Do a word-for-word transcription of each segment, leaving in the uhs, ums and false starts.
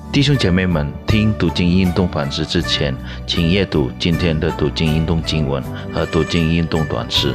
弟兄姐妹们，听读经运动反思之前，请阅读今天的读经运动经文和读经运动短诗。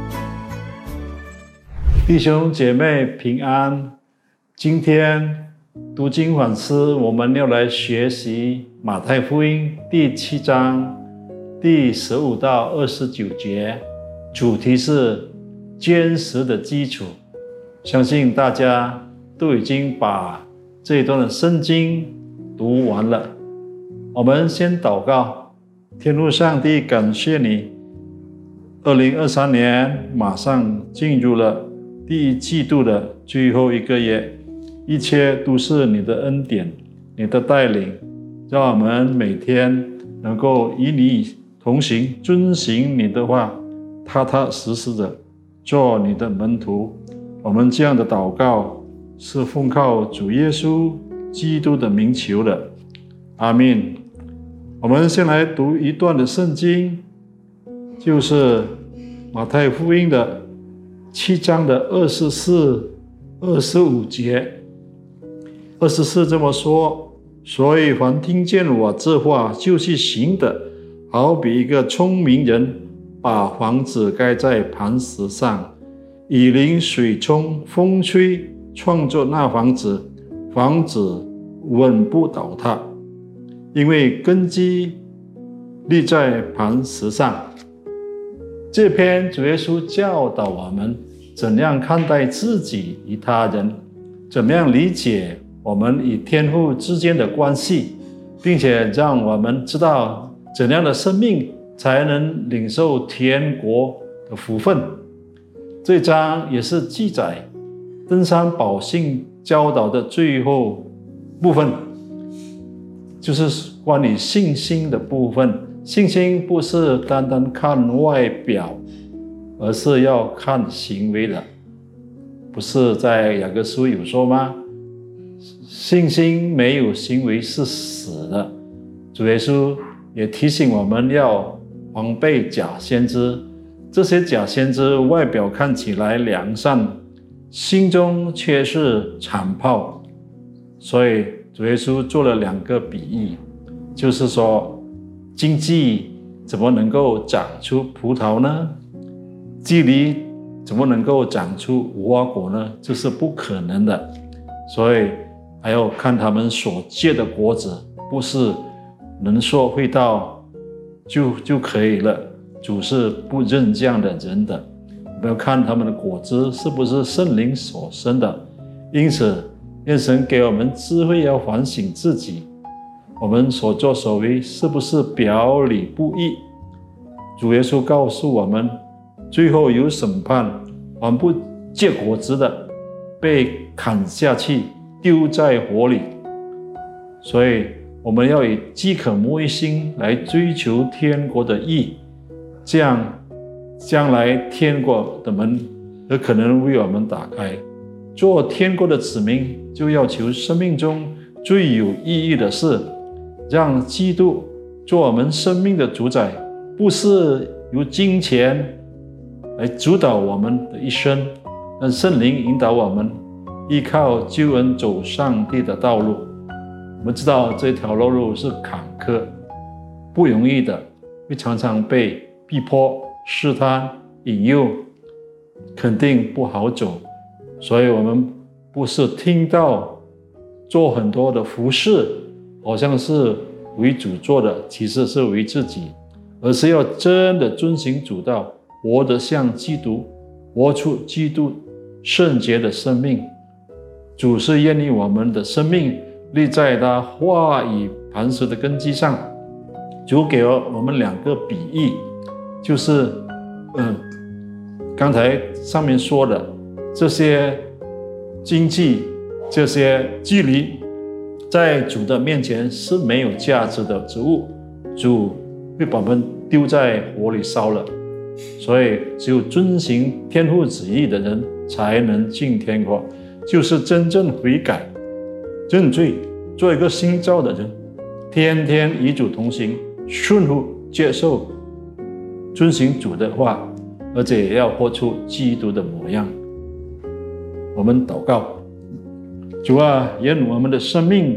弟兄姐妹平安，今天读经反思，我们要来学习马太福音第七章第十五到二十九节，主题是坚实的基础。相信大家都已经把这一段的圣经读完了。我们先祷告。天父上帝，感谢你，二零二三年马上进入了第一季度的最后一个月，一切都是你的恩典，你的带领，让我们每天能够与你同行，遵行你的话，踏踏实实的做你的门徒。我们这样的祷告是奉靠主耶稣基督的名求的，阿们。我们先来读一段的圣经，就是马太福音的七章的二十四、二十五节。二十四这么说：所以凡听见我这话就去行的，好比一个聪明人把房子盖在磐石上，雨淋水冲风吹，创作那房子，房子稳不倒塌，因为根基立在磐石上。这篇主耶稣教导我们怎样看待自己与他人，怎么样理解我们与天父之间的关系，并且让我们知道怎样的生命才能领受天国的福分。这章也是记载登山宝训教导的最后部分，就是关于信心的部分。信心不是单单看外表，而是要看行为的。不是在雅各书有说吗？信心没有行为是死的。主耶稣也提醒我们要防备假先知，这些假先知外表看起来良善，心中却是残暴。所以主耶稣做了两个比喻，就是说荆棘怎么能够长出葡萄呢？蒺藜怎么能够长出无花果呢？这是不可能的。所以还要看他们所结的果子，不是能说会道就就可以了。主是不认这样的人的。我们要看他们的果子是不是圣灵所生的。因此愿神给我们智慧，要反省自己，我们所作所为是不是表里不一。主耶稣告诉我们，最后有审判，凡不结果子的被砍下去，丢在火里。所以我们要以饥渴慕义心来追求天国的义，这样将来天国的门有可能为我们打开。做天国的子民，就要求生命中最有意义的事，让基督做我们生命的主宰，不是由金钱来主导我们的一生，让圣灵引导我们依靠救恩走上帝的道路。我们知道这条路是坎坷不容易的，会常常被逼迫、试探、引诱，肯定不好走。所以我们不是听到做很多的服事，好像是为主做的，其实是为自己，而是要真的遵行主道，活得像基督，活出基督圣洁的生命。主是愿意我们的生命立在他话语磐石的根基上。主给了我们两个比喻，就是嗯，刚才上面说的这些经济、这些距离，在主的面前是没有价值的植物，主会把我们丢在火里烧了。所以只有遵行天父旨意的人才能进天国，就是真正悔改、认罪，做一个新造的人，天天与主同行，顺服接受遵行主的话，而且也要活出基督的模样。我们祷告，主啊，愿我们的生命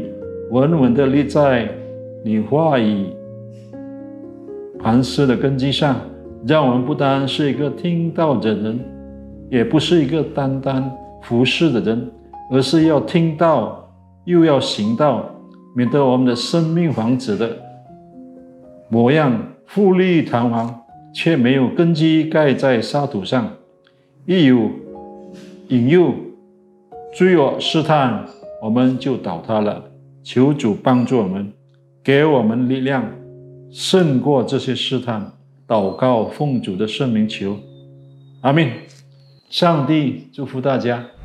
稳稳地立在你话语磐石的根基上，让我们不单是一个听道的人，也不是一个单单服侍的人，而是要听道又要行道，免得我们的生命房子的模样富丽堂皇，却没有根基盖在沙土上，一有引诱追我试探，我们就倒塌了。求主帮助我们，给我们力量，胜过这些试探。祷告奉主的圣名求，阿们。上帝祝福大家。